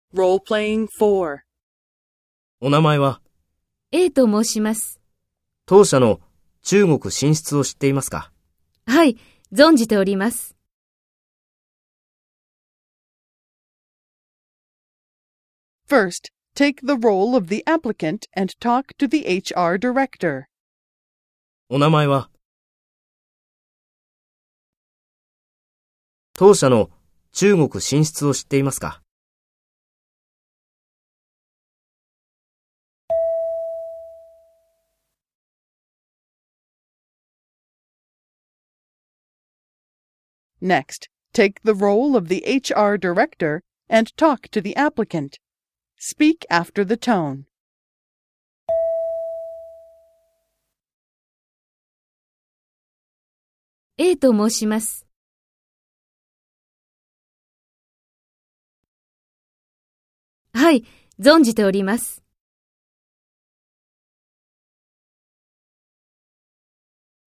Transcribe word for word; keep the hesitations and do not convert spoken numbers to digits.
Role-playing four. お名前は？ A と申します。 当社の中国進出を知っていますか？ はい、存じております。 First, take the role of the applicant and talk to the H R director. お名前は？当社の中国進出を知っていますか？ Next, take the role of the H R director and talk to the applicant. Speak after the tone. A と申します。はい、存じております。